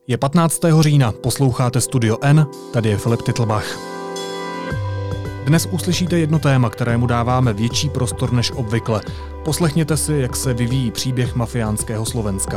Je 15. října, posloucháte Studio N, tady je Filip Titlbach. Dnes uslyšíte jedno téma, kterému dáváme větší prostor než obvykle. Poslechněte si, jak se vyvíjí příběh mafiánského Slovenska.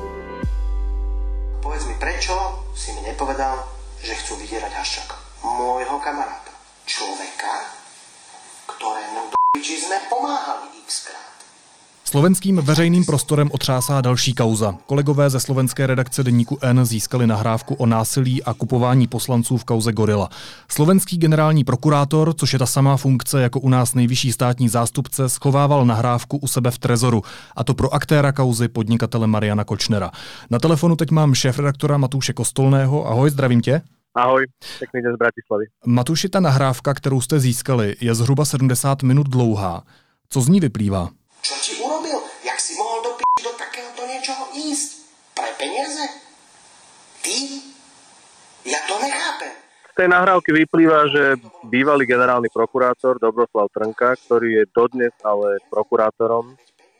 Povedz mi, prečo si mi nepovedal, že chcú vydierať Haščáka, môjho kamaráta, človeka, ktorému do piči sme pomáhali xkrát. Slovenským veřejným prostorem otřásá další kauza. Kolegové ze slovenské redakce deníku N získali nahrávku o násilí a kupování poslanců v kauze Gorila. Slovenský generální prokurátor, což je ta samá funkce jako u nás nejvyšší státní zástupce, schovával nahrávku u sebe v trezoru, a to pro aktéra kauzy podnikatele Mariana Kočnera. Na telefonu teď mám šéfredaktora Matúše Kostolného. Ahoj, zdravím tě. Ahoj, pekný den z Bratislavy. Matúši, ta nahrávka, kterou jste získali, je zhruba 70 minut dlouhá. Co z ní vyplývá? Čo ti urobil? Jak si mohol do takéhoto niečoho ísť? Pre peniaze? Ty? Ja to nechápem. Z tej nahrávky vyplýva, že bývalý generálny prokurátor Dobroslav Trnka, ktorý je dodnes ale prokurátorom,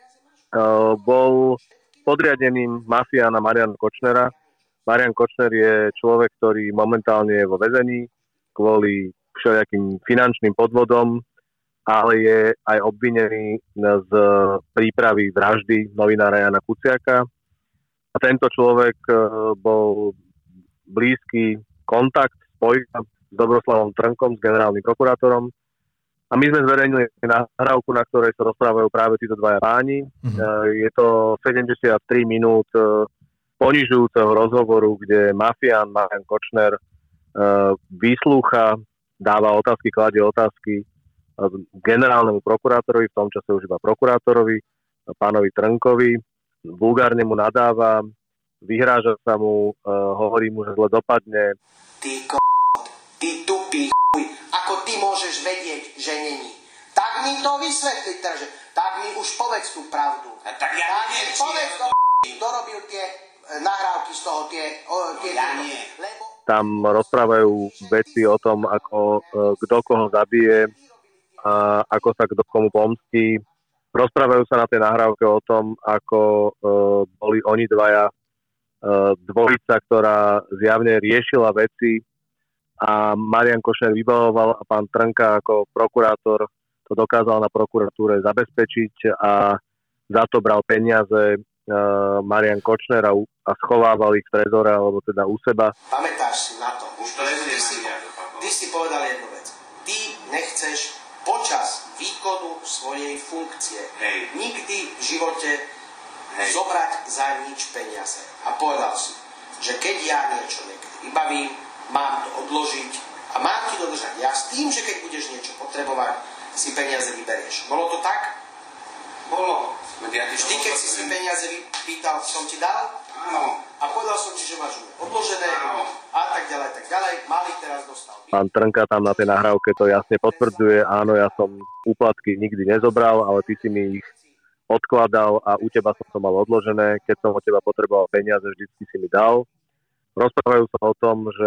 bol podriadeným mafiána Mariana Kočnera. Marian Kočner je človek, ktorý momentálne je vo väzení kvôli všelijakým finančným podvodom, ale je aj obvinený z prípravy vraždy novinára Jana Kuciaka. A tento človek bol blízky kontakt, spojka s Dobroslavom Trnkom, s generálnym prokurátorom. A my sme zverejnili nahrávku, na ktorej sa rozprávajú práve títo dvaja páni. Je to 73 minút ponižujúceho rozhovoru, kde mafián Marian Kočner vyslúcha, dáva otázky, kladie otázky generálnemu prokurátorovi, v tom čase už iba prokurátorovi, pánovi Trnkovi, vulgárne mu nadáva, vyhráža sa mu, hovorí mu, že zle dopadne. Ty ty tupý chuj, ako ty môžeš vedieť, že není? Tak mi to vysvetli, tak mi už povedz tú pravdu. Tak ja neviem, povedz to, kto robil tie nahrávky z toho, ja nie. Tam rozprávajú veci o tom, ako kto koho zabije, a ako sa kto komu pomstí. Rozprávajú sa na tej nahrávke o tom, ako boli oni dvaja dvojica, ktorá zjavne riešila veci a Marian Kočner vybavoval a pán Trnka ako prokurátor to dokázal na prokuratúre zabezpečiť a za to bral peniaze Marian Kočner a schovával ich v trezore alebo teda u seba. Pamätáš si na to? Už to ty si povedal jednu vec. Ty nechceš počas výkonu svojej funkcie nikdy v živote zobrať za nič peniaze. A povedal si, že keď ja niečo vybavím, mám to odložiť a mám ti dodržať. Ja s tým, že keď budeš niečo potrebovať, si peniaze vyberieš. Bolo to tak? Bolo. Vždy, keď si peniaze vypýtal, som ti dal? Áno. A povedal som ti, že máš odložené a tak ďalej. Mali teraz dostal. Pán Trnka tam na tej nahrávke to jasne potvrdzuje. Áno, ja som úplatky nikdy nezobral, ale ty si mi ich odkladal a u teba som to mal odložené. Keď som od teba potreboval peniaze, vždycky si mi dal. Rozprávajú sa o tom, že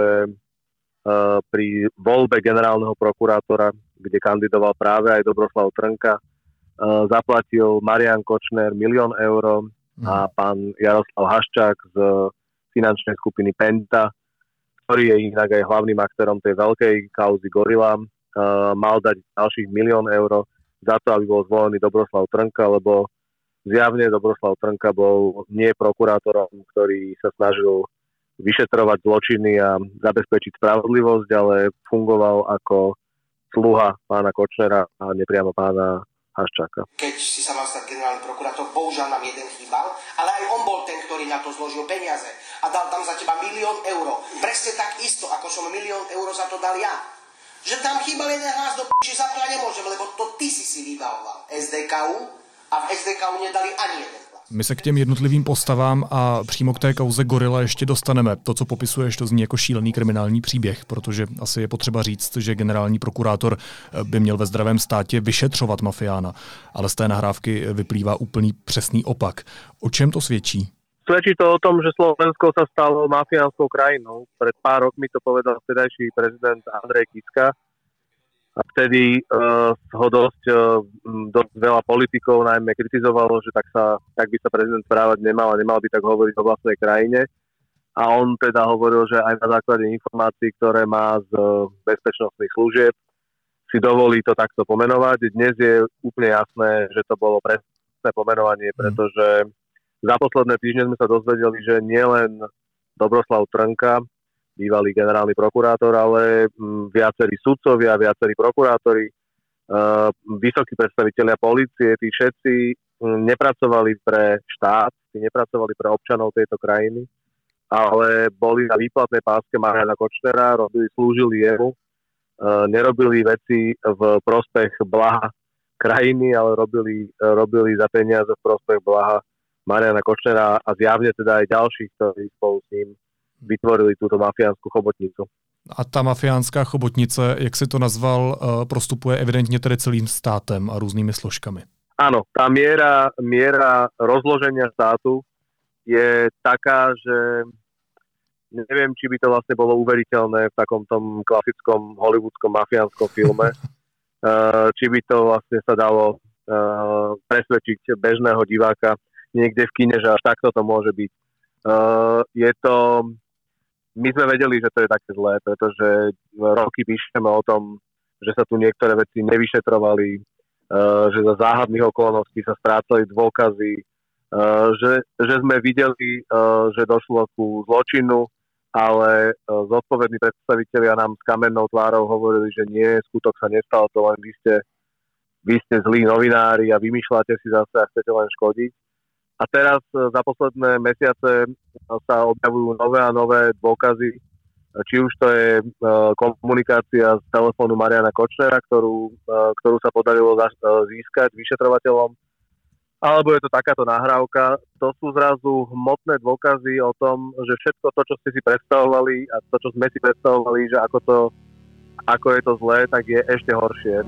pri voľbe generálneho prokurátora, kde kandidoval práve aj Dobroslav Trnka, zaplatil Marian Kočner 1 000 000 eur a pán Jaroslav Haščák z finančnej skupiny Penta, ktorý je inak aj hlavným aktérom tej veľkej kauzy Gorila, mal dať ďalších 1 000 000 eur za to, aby bol zvolený Dobroslav Trnka, lebo zjavne Dobroslav Trnka bol nie prokurátorom, ktorý sa snažil vyšetrovať zločiny a zabezpečiť spravodlivosť, ale fungoval ako sluha pána Kočnera a nepriamo pána Haščáka. Keď si sa mal stať generálny prokurátor, bohužiaľ nám jeden chýbal, ale aj on bol ten, ktorý na to zložil peniaze a dal tam za teba 1 000 000 eur. Presne tak isto, ako som 1 000 000 eur za to dal ja. Že tam chýbal jeden hlas do p***, za to ja nemôžem, lebo to ty si vybavoval SDKU a v SDKU nedali ani jeden hlas. My se k těm jednotlivým postavám a přímo k té kauze Gorila ještě dostaneme. To, co popisuješ, to zní jako šílený kriminální příběh, protože asi je potřeba říct, že generální prokurátor by měl ve zdravém státě vyšetřovat mafiána, ale z té nahrávky vyplývá úplný přesný opak. O čem to svědčí? Svedčí to o tom, že Slovensko sa stalo mafiánskou krajinou. Pred pár rokmi to povedal vtedajší prezident Andrej Kiska. A vtedy ho dosť veľa politikov najmä kritizovalo, že tak by sa prezident správať nemal a nemal by tak hovoriť o vlastnej krajine. a on teda hovoril, že aj na základe informácií, ktoré má z bezpečnostných služieb, si dovolí to takto pomenovať. Dnes je úplne jasné, že to bolo presné pomenovanie, pretože za posledné týždne sme sa dozvedeli, že nielen Dobroslav Trnka, bývalý generálny prokurátor, ale viacerí sudcovia, viacerí prokurátori, vysokí predstavitelia polície, tí všetci nepracovali pre štát, tí nepracovali pre občanov tejto krajiny, ale boli na výplatnej páske Mariana Kočnera, slúžili jemu, nerobili veci v prospech blaha krajiny, ale robili za peniaze v prospech blaha Mariana Kočnera a zjavne teda aj ďalších, ktorí spolu s ním vytvorili túto mafiánsku chobotnicu. A ta mafiánská chobotnice, jak si to nazval, prostupuje evidentně tedy celým státem a různými složkami. Áno, tá miera rozloženia štátu je taká, že neviem, či by to vlastne bolo uveriteľné v takom tom klasickom hollywoodskom mafiánskom filme, či by to vlastne sa dalo presvedčiť bežného diváka niekde v kine, že až takto to môže byť. My sme vedeli, že to je také zlé, pretože roky píšeme o tom, že sa tu niektoré veci nevyšetrovali, že za záhadných okolností sa strácali dôkazy, že sme videli, že došlo ku zločinu, ale zodpovední predstavitelia nám s kamennou tvárou hovorili, že nie, skutok sa nestal, to len vy ste zlí novinári a vymýšľate si zase a chcete len škodiť. A teraz za posledné mesiace sa objavujú nové a nové dôkazy, či už to je komunikácia z telefónu Mariana Kočnera, ktorú sa podarilo získať vyšetrovateľom, alebo je to takáto nahrávka. To sú zrazu hmotné dôkazy o tom, že všetko to, čo ste si predstavovali a to, čo sme si predstavovali, že ako je to zlé, tak je ešte horšie.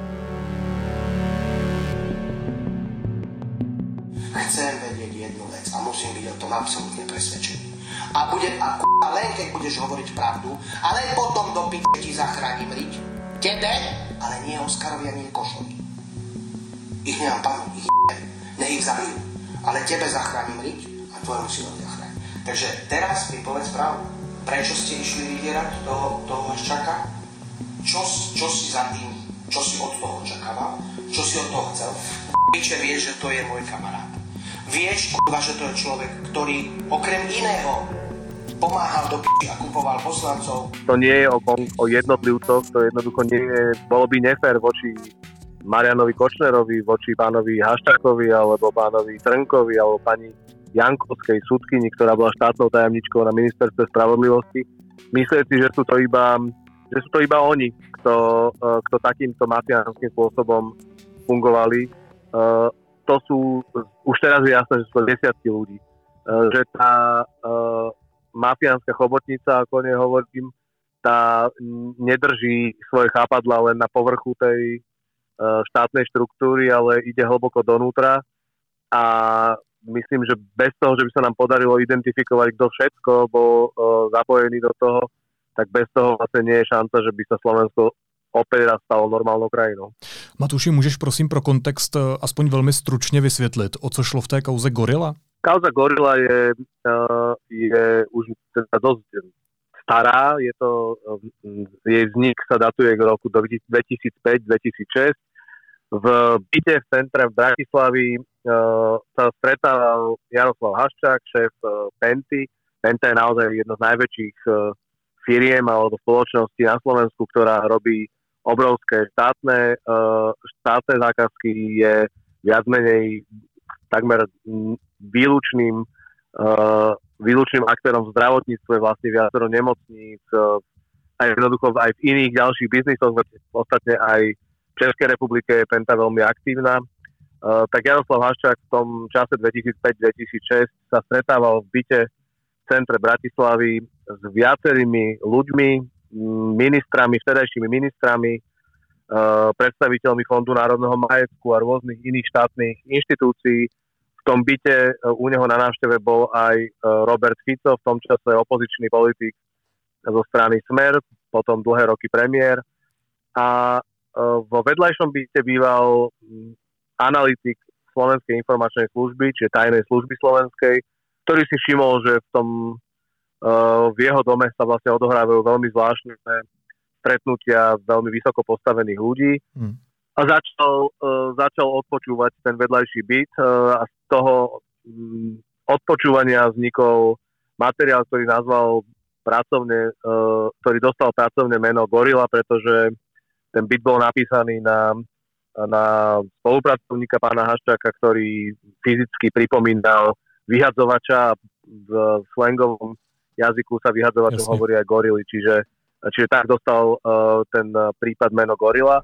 Chcem vedieť jednu vec a musím byť o tom absolútne presvedčený. A len keď budeš hovoriť pravdu, a len potom do piče ti zachránim riť. Tebe, ale nie Oskarovi a nie Košovi. Ich nemám panu, nech ich zabijú. Ale tebe zachránim riť a tvojmu synovi zachránim. Takže teraz mi povedz pravdu. Prečo ste išli vydierať toho Haščáka? Čo si za tým, čo si od toho očakával? Čo si od toho chcel? Piče vieš, že to je môj kamarát. Vieš, že to je človek, ktorý okrem iného pomáhal do piči a kupoval poslancov. To nie je o jednotlivcoch, to jednoducho nie je, bolo by nefér voči Marianovi Kočnerovi, voči pánovi Haščákovi, alebo pánovi Trnkovi, alebo pani Jankovskej sudkyni, ktorá bola štátnou tajomničkou na ministerstve spravodlivosti. Myslieť si, že sú to iba oni, kto takýmto mafiánskym spôsobom fungovali. To sú, už teraz je jasné, že sú to desiatky ľudí. Že tá mafiánska chobotnica, ako nehovorím, tá nedrží svoje chápadla len na povrchu tej štátnej štruktúry, ale ide hlboko donútra a myslím, že bez toho, že by sa nám podarilo identifikovať, kto všetko bol zapojený do toho, tak bez toho vlastne nie je šanca, že by sa Slovensko opět raz stalo normálnou krajinou. Matuši, můžeš prosím pro kontext aspoň velmi stručně vysvětlit, o co šlo v té kauze Gorila? Kauza Gorila je už teda dosť stará, jej vznik sa datuje k roku 2005-2006. V byte v centre v Bratislavy sa stretával Jaroslav Haščák, šéf Penty. Penta je naozaj jedno z najväčších firiem alebo spoločností na Slovensku, ktorá robí obrovské štátne zákazky, je viac menej takmer výlučným aktérom v zdravotníctve, vlastne viacero nemocníc, aj jednoducho aj v iných ďalších biznisoch, ostatne aj v Českej republike je Penta veľmi aktívna. Tak Jaroslav Haščák v tom čase 2005-2006 sa stretával v byte v centre Bratislavy s viacerými ľuďmi, ministrami, vtedajšími ministrami, predstaviteľmi Fondu národného majetku a rôznych iných štátnych inštitúcií. V tom byte u neho na návšteve bol aj Robert Fico, v tom čase opozičný politik zo strany Smer, potom dlhé roky premiér. A vo vedľajšom byte býval analytik Slovenskej informačnej služby, čiže tajnej služby slovenskej, ktorý si všimol, že v tom V jeho dome sa vlastne odohrávajú veľmi zvláštne stretnutia veľmi vysoko postavených ľudí. A začal odpočúvať ten vedľajší byt a z toho odpočúvania vznikol materiál, ktorý nazval ktorý dostal pracovné meno Gorila, pretože ten byt bol napísaný na spolupracovníka pána Haščáka, ktorý fyzicky pripomínal vyhadzovača. V slangovom jazyku sa vyhadzovačom hovorí aj gorily, čiže tak dostal ten prípad meno Gorila.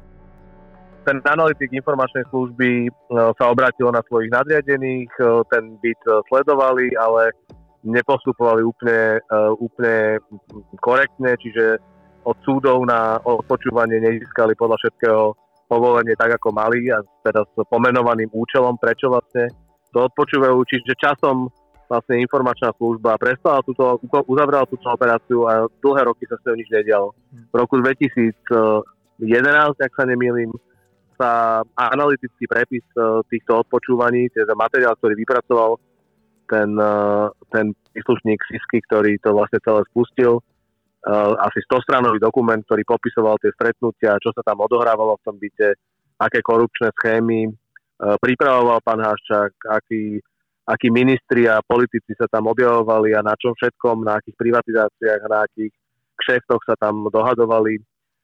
Ten analytik informačnej služby sa obrátil na svojich nadriadených, ten byt sledovali, ale nepostupovali úplne korektne, čiže od súdov na odpočúvanie nezískali podľa všetkého povolenie tak, ako mali a teda s pomenovaným účelom, prečo vlastne to odpočúvajú. Čiže časom vlastne informačná služba uzavrela túto operáciu a dlhé roky sa s ňou nič nedialo. V roku 2011, ak sa nemýlim, sa analytický prepis týchto odpočúvaní, teda materiál, ktorý vypracoval ten príslušník SIS-ky, ktorý to vlastne celé spustil, asi 100-stranový dokument, ktorý popisoval tie stretnutia, čo sa tam odohrávalo v tom byte, aké korupčné schémy pripravoval pán Haščák, akí ministri a politici sa tam objavovali a na čom všetkom, na akých privatizáciách, na akých kšeftoch sa tam dohadovali.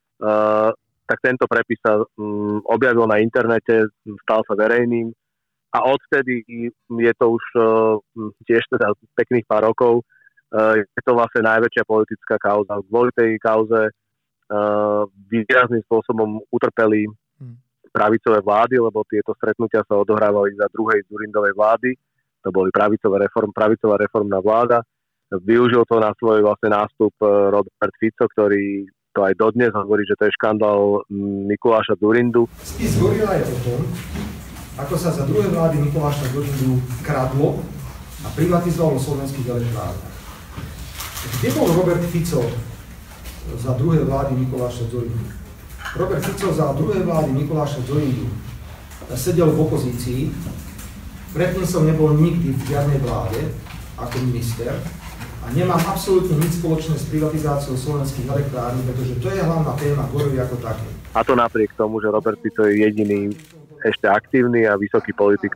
Tak tento prepis sa objavil na internete, stal sa verejným a odtedy je to už tiež teda pekných pár rokov. Je to vlastne najväčšia politická kauza. Kvôli tej kauze výrazným spôsobom utrpeli pravicové vlády, lebo tieto stretnutia sa odohrávali za druhej Dzurindovej vlády. To boli pravicová reformná vláda. Využil to na svoj vlastne nástup Robert Fico, ktorý to aj dodnes hovorí, že to je škandál Mikuláša Dzurindu. Spis Gorila je o tom, ako sa za druhé vlády Mikuláša Dzurindu kradlo a privatizovalo slovenských elektrárniach. Kde bol Robert Fico za druhé vlády Mikuláša Dzurindu? Robert Fico za druhé vlády Mikuláša Dzurindu sedel v opozícii, predtým som nebol nikdy v žiadnej vláde ako minister a nemám absolútne nič spoločné s privatizáciou slovenských elektrární, pretože to je hlavná téma Gorily ako také. A to napriek tomu, že Robert Fico je jediný ešte aktívny a vysoký politik,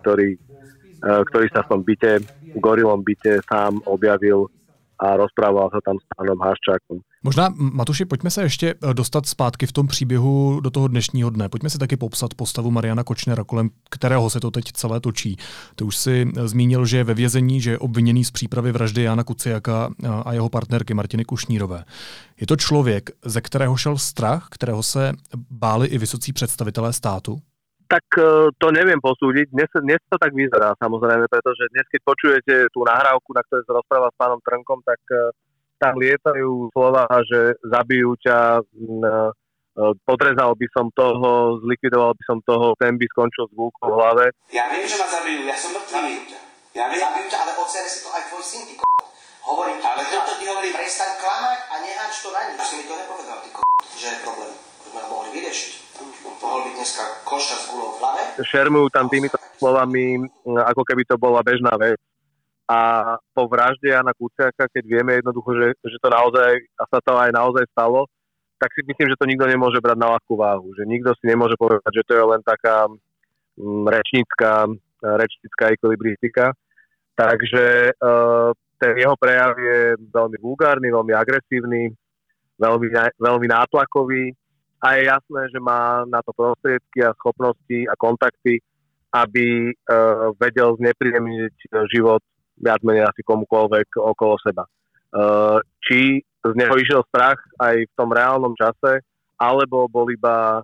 ktorý sa v tom Gorilom byte sám objavil a rozprával sa tam s pánom Haščákom. Možná, Matuši, pojďme se ještě dostat zpátky v tom příběhu do toho dnešního dne. Pojďme si taky popsat postavu Mariana Kočnera, kolem kterého se to teď celé točí. Ty už si zmínil, že je ve vězení, že je obviněný z přípravy vraždy Jána Kuciaka a jeho partnerky Martiny Kušnírové. Je to člověk, ze kterého šel strach, kterého se báli i vysocí představitelé státu? Tak to neviem posúdiť. Dnes to tak vyzerá, samozrejme, pretože dnes, keď počujete tú nahrávku, na ktorej sa rozpráva s pánom Trnkom, tak tam lietajú slova, že zabijú ťa, podrezal by som toho, zlikvidoval by som toho, ten by skončil s gúľkou v hlave. Ja viem, že ma zabijú, ja som mŕtvý. Zabijú ťa. Ja viem. Zabijú ťa, ale odsere si to aj tvoj syn, ty Hovorím, ale to ti hovorí, prestaň klamať a neháč to na nič. Už si mi to nepovedal, ty že je problém. Už ma mohli vyriešiť. Mohol byť dneska košťa s guľou v hlave. Šermujú tam týmito slovami, ako keby to bola bežná vec. A po vražde Jána Kuciaka, keď vieme jednoducho, že to naozaj, a sa to aj naozaj stalo, tak si myslím, že to nikto nemôže brať na ľahkú váhu. Že nikto si nemôže povedať, že to je len taká rečnícka ekvilibristika. Takže ten jeho prejav je veľmi vulgárny, veľmi agresívny, veľmi nátlakový. A je jasné, že má na to prostriedky a schopnosti a kontakty, aby vedel znepríjemniť život viac menej asi komukoľvek okolo seba. Či z neho išiel strach aj v tom reálnom čase, alebo bol iba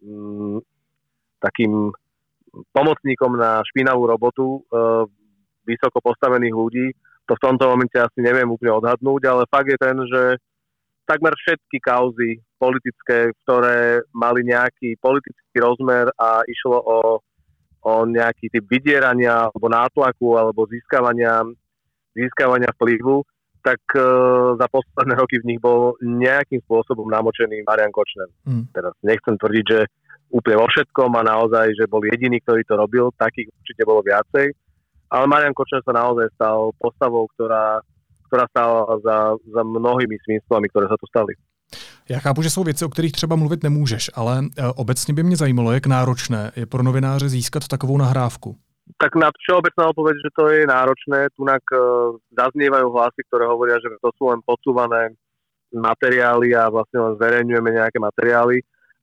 takým pomocníkom na špinavú robotu vysoko postavených ľudí, to v tomto momente asi neviem úplne odhadnúť, ale fakt je ten, že takmer všetky kauzy politické, ktoré mali nejaký politický rozmer a išlo o nejaký typ vydierania alebo nátlaku alebo získavania vplyvu, tak za posledné roky v nich bol nejakým spôsobom namočený Marian Kočner. Teraz nechcem tvrdiť, že úplne vo všetkom a naozaj, že bol jediný, ktorý to robil, takých určite bolo viacej, ale Marian Kočner sa naozaj stal postavou, ktorá stála za mnohými svinstvami, ktoré sa tu stali. Já chápu, že jsou věci, o kterých třeba mluvit nemůžeš, ale obecně by mě zajímalo, jak náročné je pro novináře získat takovou nahrávku. Tak na všeobecná odpoveď, že to je náročné. Tunak zaznievajú hlasy, ktoré hovoria, že to sú len podsúvané materiály a vlastne len zverejňujeme nejaké materiály.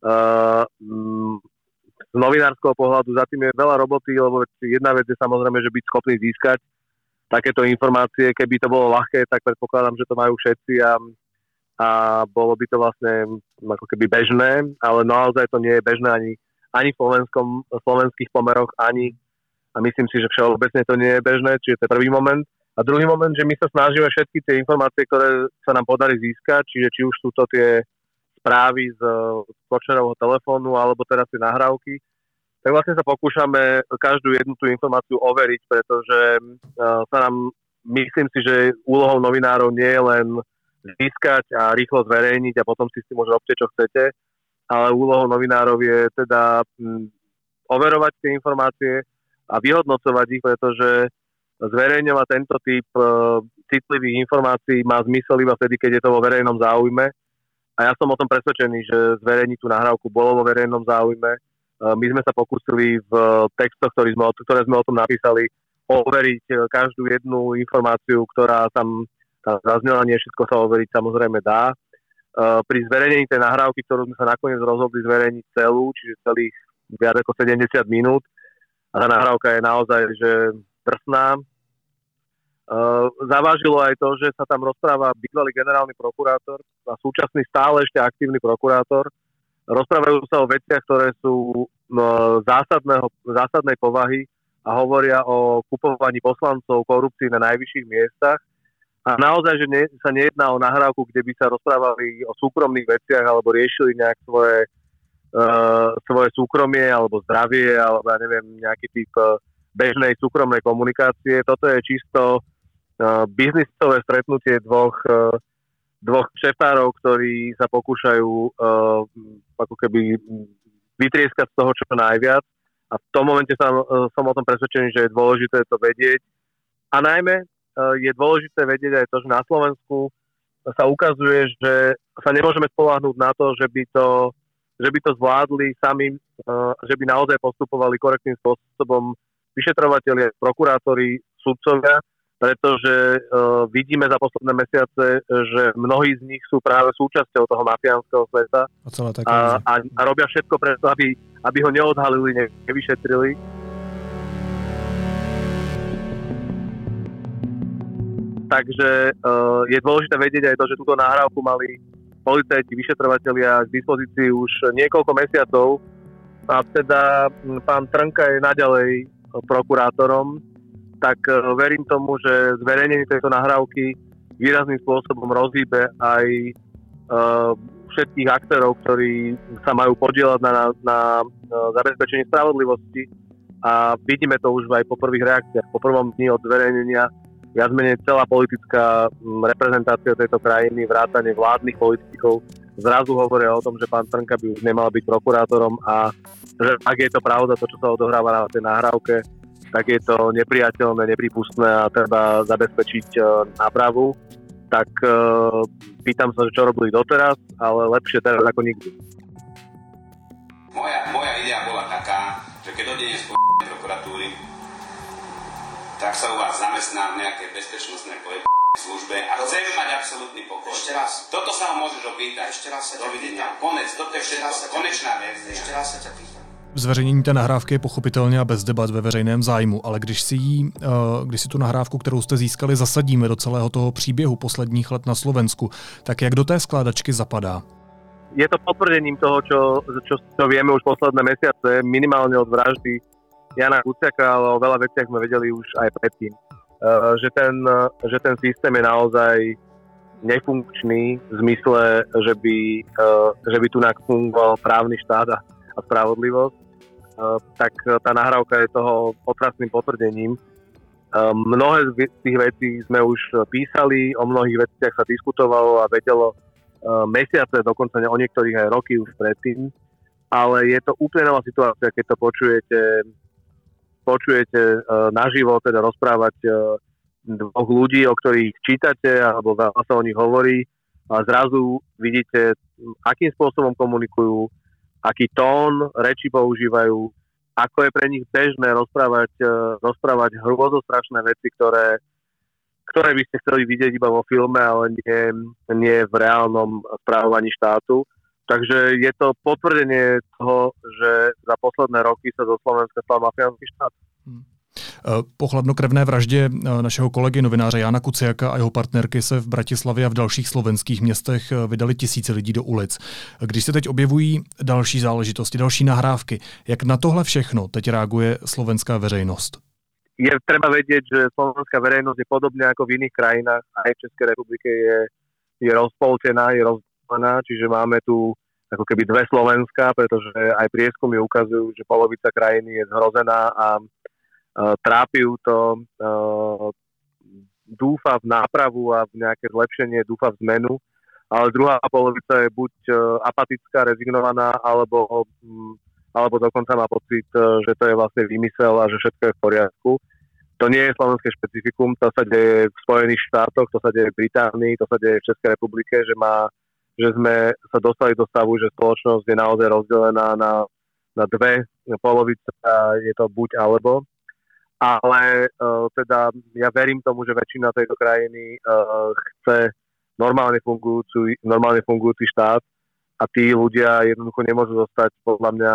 Z novinárskeho pohľadu za tým je veľa roboty, lebo jedna vec je samozrejme, že byť schopný získať takéto informácie. Keby to bolo ľahké, tak predpokladám, že to majú všetci a bolo by to vlastne ako keby bežné, ale naozaj to nie je bežné ani v slovenských pomeroch, a myslím si, že všeobecne to nie je bežné, čiže to je prvý moment. A druhý moment, že my sa snažíme všetky tie informácie, ktoré sa nám podarí získať, čiže či už sú to tie správy z Kočnerovho telefónu, alebo teraz tie nahrávky, tak vlastne sa pokúšame každú jednu tú informáciu overiť, pretože sa nám, myslím si, že úlohou novinárov nie je len získať a rýchlo zverejniť a potom si s tým môže robte, čo chcete, ale úlohou novinárov je teda overovať tie informácie a vyhodnocovať ich, pretože zverejňovať tento typ citlivých informácií má zmysel iba vtedy, keď je to vo verejnom záujme. A ja som o tom presvedčený, že zverejniť tú nahrávku bolo vo verejnom záujme. My sme sa pokúsili v textoch, ktoré sme o tom napísali, overiť každú jednu informáciu, ktorá tam zaznela. Nie všetko sa overiť samozrejme dá. Pri zverejnení tej nahrávky, ktorú sme sa nakoniec rozhodli zverejniť celú, čiže celých viac ako 70 minút, a tá nahrávka je naozaj že drsná. Zavážilo aj to, že sa tam rozpráva bývalý generálny prokurátor a súčasný stále ešte aktívny prokurátor. Rozprávajú sa o veciach, ktoré sú zásadnej povahy a hovoria o kupovaní poslancov, korupcii na najvyšších miestach. A naozaj, že sa nejedná o nahrávku, kde by sa rozprávali o súkromných veciach alebo riešili nejak svoje súkromie alebo zdravie alebo ja neviem, nejaký typ bežnej súkromnej komunikácie. Toto je čisto biznisové stretnutie dvoch šefárov, ktorí sa pokúšajú ako keby vytrieskať z toho čo najviac. A v tom momente som o tom presvedčený, že je dôležité to vedieť. A najmä je dôležité vedieť aj to, že na Slovensku sa ukazuje, že sa nemôžeme spoľahnúť na to, že by to zvládli sami, že by naozaj postupovali korektným spôsobom vyšetrovatelia, prokurátori, sudcovia, pretože vidíme za posledné mesiace, že mnohí z nich sú práve súčasťou toho mafiánskeho sveta a robia všetko preto, aby ho neodhalili, nevyšetrili. Takže je dôležité vedieť aj to, že túto nahrávku mali policajti, vyšetrovatelia k dispozícii už niekoľko mesiacov a teda pán Trnka je naďalej prokurátorom, tak verím tomu, že zverejnenie tejto nahrávky výrazným spôsobom rozhýbe aj všetkých aktérov, ktorí sa majú podieľať na zabezpečení spravodlivosti a vidíme to už aj po prvých reakciách. Po prvom dni od zverejnenia viac menej celá politická reprezentácia tejto krajiny, vrátane vládnych politikov, zrazu hovoria o tom, že pán Trnka by už nemal byť prokurátorom a že ak je to pravda, to, čo sa odohráva na tej nahrávke, tak je to nepriateľné, neprípustné a treba zabezpečiť nápravu. Tak pýtam sa, že čo robili doteraz, ale lepšie teraz ako nikdy. Moja idea bola taká, že keď odídem z prokuratúry, tak sa u vás zamestná v nejakej bezpečnostnej službe a chceme mať absolútny pokoj. Ešte raz. Toto sa ho môžeš opýtať. Ešte raz sa ťa pýtam. Konec, toto je všetko, konečná verzia. Ešte raz sa ťa pýtam. Zveřejnění té nahrávky je pochopitelně a bez debat ve veřejném zájmu, ale když si tu nahrávku, kterou jste získali, zasadíme do celého toho příběhu posledních let na Slovensku, tak jak do té skládačky zapadá? Je to potvrdením toho, čo vieme už posledné mesiace, minimálne od vraždy Jana Kuciaka, ale o veľa veciach sme vedeli už aj predtým. Že ten systém je naozaj nefunkčný v zmysle, že by tu fungoval právny štát a spravodlivosť, tak tá nahrávka je toho otrasným potvrdením. Mnohé z tých vecí sme už písali, o mnohých veciach sa diskutovalo a vedelo mesiace, dokonca o niektorých aj roky už predtým, ale je to úplne nová situácia, keď to počujete naživo, teda rozprávať dvoch ľudí, o ktorých čítate alebo veľa sa o nich hovorí a zrazu vidíte, akým spôsobom komunikujú, aký tón reči používajú, ako je pre nich bežné rozprávať hrôzostrašné veci, ktoré by ste chceli vidieť iba vo filme, ale nie v reálnom správovaní štátu. Takže je to potvrdenie toho, že za posledné roky sa zo Slovenska stal mafiánsky štát. Po chladnokrevné vraždě našeho kolegy novináře Jána Kuciaka a jeho partnerky se v Bratislavě a v dalších slovenských městech vydali tisíce lidí do ulic. Když se teď objevují další záležitosti, další nahrávky, jak na tohle všechno teď reaguje slovenská veřejnost? Je treba vedieť, že slovenská verejnosť je podobne ako v iných krajinách, aj v Českej republike je rozpoltená, je rozdelená, čiže máme tu ako keby dve Slovenska, pretože aj prieskumy ukazujú, že polovica krajiny je zhrozená a trápi ju to, dúfa v nápravu a v nejaké zlepšenie, dúfa v zmenu, ale druhá polovica je buď apatická, rezignovaná, alebo dokonca má pocit, že to je vlastne výmysel a že všetko je v poriadku. To nie je slovenské špecifikum, to sa deje v Spojených štátoch, to sa deje v Británii, to sa deje v Českej republike, že sme sa dostali do stavu, že spoločnosť je naozaj rozdelená na dve polovice a je to buď alebo. Ale teda ja verím tomu, že väčšina tejto krajiny chce normálne fungujúci štát a tí ľudia jednoducho nemôžu zostať podľa mňa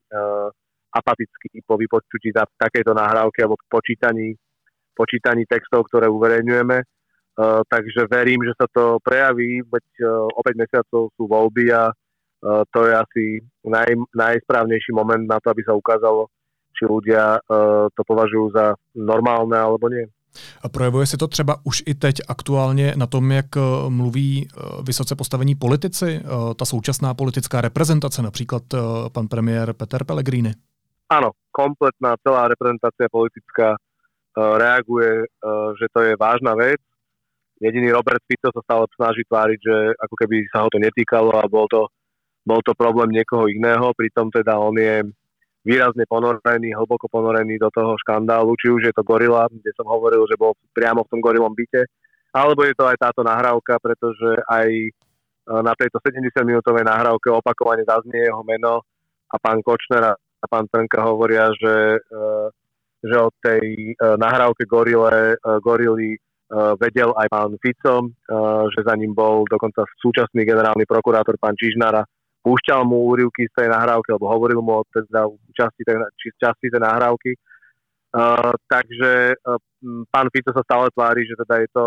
apatickí po vypočutí takejto nahrávky alebo počítaní textov, ktoré uverejňujeme. Takže verím, že sa to prejaví, veď o 5 mesiacov sú voľby a to je asi najsprávnejší moment na to, aby sa ukázalo, či ľudia to považujú za normálne alebo nie. A projevuje se to třeba už i teď aktuálně na tom, jak mluví vysoce postavení politici, ta současná politická reprezentace, například pan premiér Peter Pellegrini? Áno, kompletná celá reprezentácia politická reaguje, že to je vážna vec. Jediný Robert Fico sa stále snaží tváriť, že ako keby sa ho to netýkalo a bol to problém niekoho iného, pritom teda on je výrazne ponorený, hlboko ponorený do toho škandálu, či už je to Gorila, kde som hovoril, že bol priamo v tom Gorilom byte, alebo je to aj táto nahrávka, pretože aj na tejto 70-minútovej nahrávke opakovane zaznie jeho meno a pán Kočner a pán Trnka hovoria, že od tej nahrávke Gorily vedel aj pán Fico, že za ním bol dokonca súčasný generálny prokurátor pán Čižnara, púšťal mu úryvky z tej nahrávky, alebo hovoril mu teda časti tej nahrávky. Takže pán Fico sa stále tvári, že teda je to,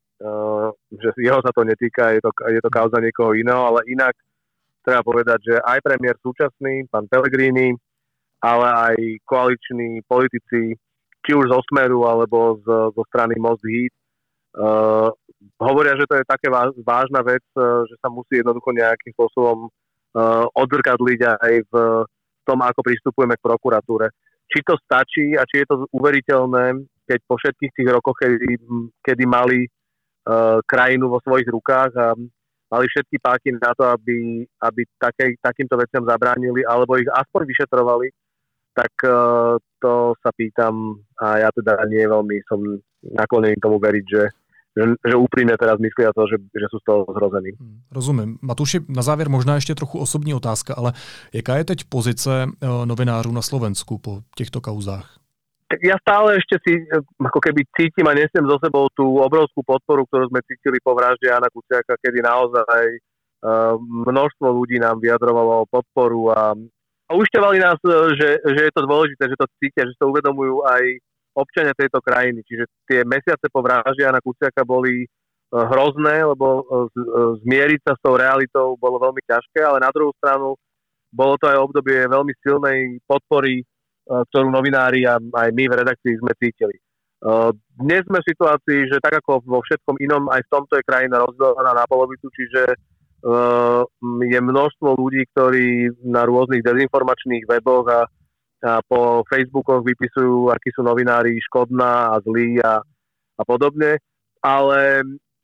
že jeho sa to netýka, je to kauza niekoho iného, ale inak treba povedať, že aj premiér súčasný, pán Pellegrini, ale aj koaliční politici, či už zo Smeru, alebo zo strany Most Híd, hovoria, že to je také vážna vec, že sa musí jednoducho nejakým spôsobom odzrkadliť aj v tom, ako pristupujeme k prokuratúre. Či to stačí a či je to uveriteľné, keď po všetkých tých rokoch, kedy mali krajinu vo svojich rukách a mali všetky páky na to, aby takýmto veciam zabránili, alebo ich aspoň vyšetrovali, tak to sa pýtam a ja teda nie veľmi som naklonený tomu veriť, že úprimne teraz myslia to, že sú z toho zrození. Rozumím. Matuši, na závěr možná ještě trochu osobní otázka, ale jaká je teď pozice novinářů na Slovensku po těchto kauzách? Tak ja stále ešte si ako keby cítim a nesiem zo sebou tú obrovskú podporu, ktorú sme cítili po vražde Jána Kuciaka, kedy naozaj množstvo ľudí nám vyjadrovalo podporu a ušťovali nás, že je to dôležité, že to cítia, že to uvedomujú aj občania tejto krajiny. Čiže tie mesiace po vražde Jána Kuciaka boli hrozné, lebo zmieriť sa s tou realitou bolo veľmi ťažké, ale na druhú stranu bolo to aj obdobie veľmi silnej podpory, ktorú novinári a aj my v redakcii sme cítili. Dnes sme v situácii, že tak ako vo všetkom inom, aj v tomto je krajina rozdelená na polovicu, čiže je množstvo ľudí, ktorí na rôznych dezinformačných weboch a po Facebookoch vypisujú, akí sú novinári škodná a zlí a podobne, ale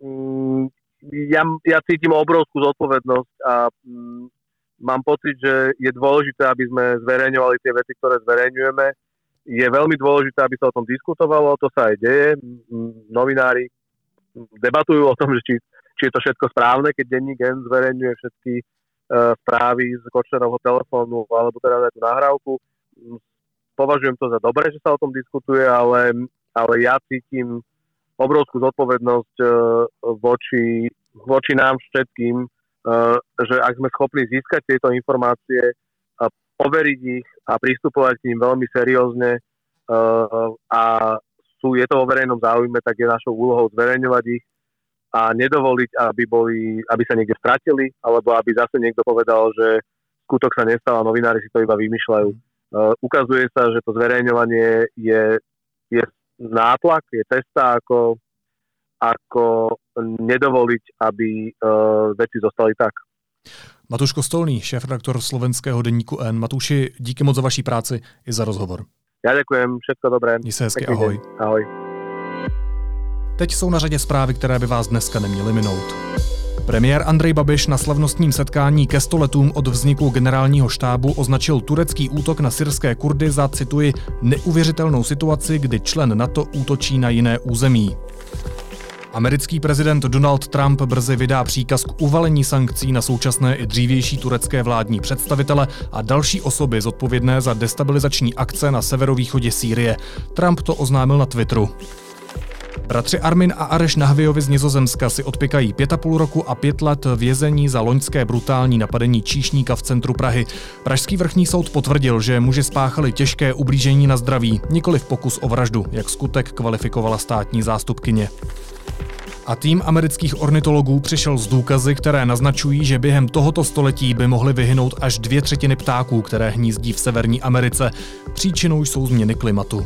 ja cítim obrovskú zodpovednosť a mám pocit, že je dôležité, aby sme zverejňovali tie veci, ktoré zverejňujeme je veľmi dôležité, aby sa o tom diskutovalo, to sa aj deje. Novinári debatujú o tom, že či je to všetko správne, keď denník N zverejňuje všetky správy z Kočnerovho telefónu alebo teda tú nahrávku. Považujem to za dobré, že sa o tom diskutuje, ale ja cítim obrovskú zodpovednosť voči nám všetkým, že ak sme schopní získať tieto informácie, overiť ich a pristupovať k ním veľmi seriózne a je to vo verejnom záujme, tak je našou úlohou zverejňovať ich a nedovoliť, aby sa niekde stratili, alebo aby zase niekto povedal, že skutok sa nestal a novinári si to iba vymýšľajú. Ukazuje sa, že to zverejňovanie je nátlak, je cesta, ako nedovoliť, aby veci zostali tak. Matuš Kostolný, šéfredaktor slovenského deníku N. Matuši, díky moc za vaší práci i za rozhovor. Já děkujem, všetko dobré. Měj se hezky, ahoj. Ahoj. Teď jsou na řadě zprávy, které by vás dneska neměly minout. Premiér Andrej Babiš na slavnostním setkání ke 100 letům od vzniku generálního štábu označil turecký útok na syrské Kurdy za, cituji, neuvěřitelnou situaci, kdy člen NATO útočí na jiné území. Americký prezident Donald Trump brzy vydá příkaz k uvalení sankcí na současné i dřívější turecké vládní představitele a další osoby zodpovědné za destabilizační akce na severovýchodě Sýrie. Trump to oznámil na Twitteru. Bratři Armin a Areš Nahvijovi z Nizozemska si odpykají 5,5 roku a 5 let vězení za loňské brutální napadení číšníka v centru Prahy. Pražský vrchní soud potvrdil, že muži spáchali těžké ublížení na zdraví, nikoliv pokus o vraždu, jak skutek kvalifikovala státní zástupkyně. A tým amerických ornitologů přišel s důkazy, které naznačují, že během tohoto století by mohly vyhynout až 2/3 ptáků, které hnízdí v Severní Americe. Příčinou jsou změny klimatu.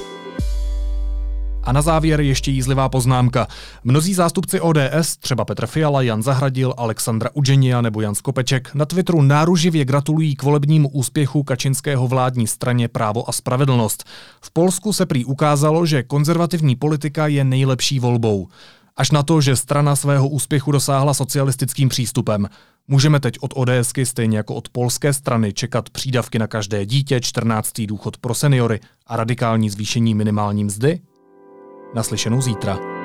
A na závěr ještě jízlivá poznámka. Mnozí zástupci ODS, třeba Petr Fiala, Jan Zahradil, Alexandra Udženija nebo Jan Skopeček, na Twitteru náruživě gratulují k volebnímu úspěchu Kačinského vládní straně Právo a spravedlnost. V Polsku se prý ukázalo, že konzervativní politika je nejlepší volbou. Až na to, že strana svého úspěchu dosáhla socialistickým přístupem. Můžeme teď od ODSky, stejně jako od polské strany, čekat přídavky na každé dítě, 14. důchod pro seniory a radikální zvýšení minimální mzdy? Naslyšenou zítra.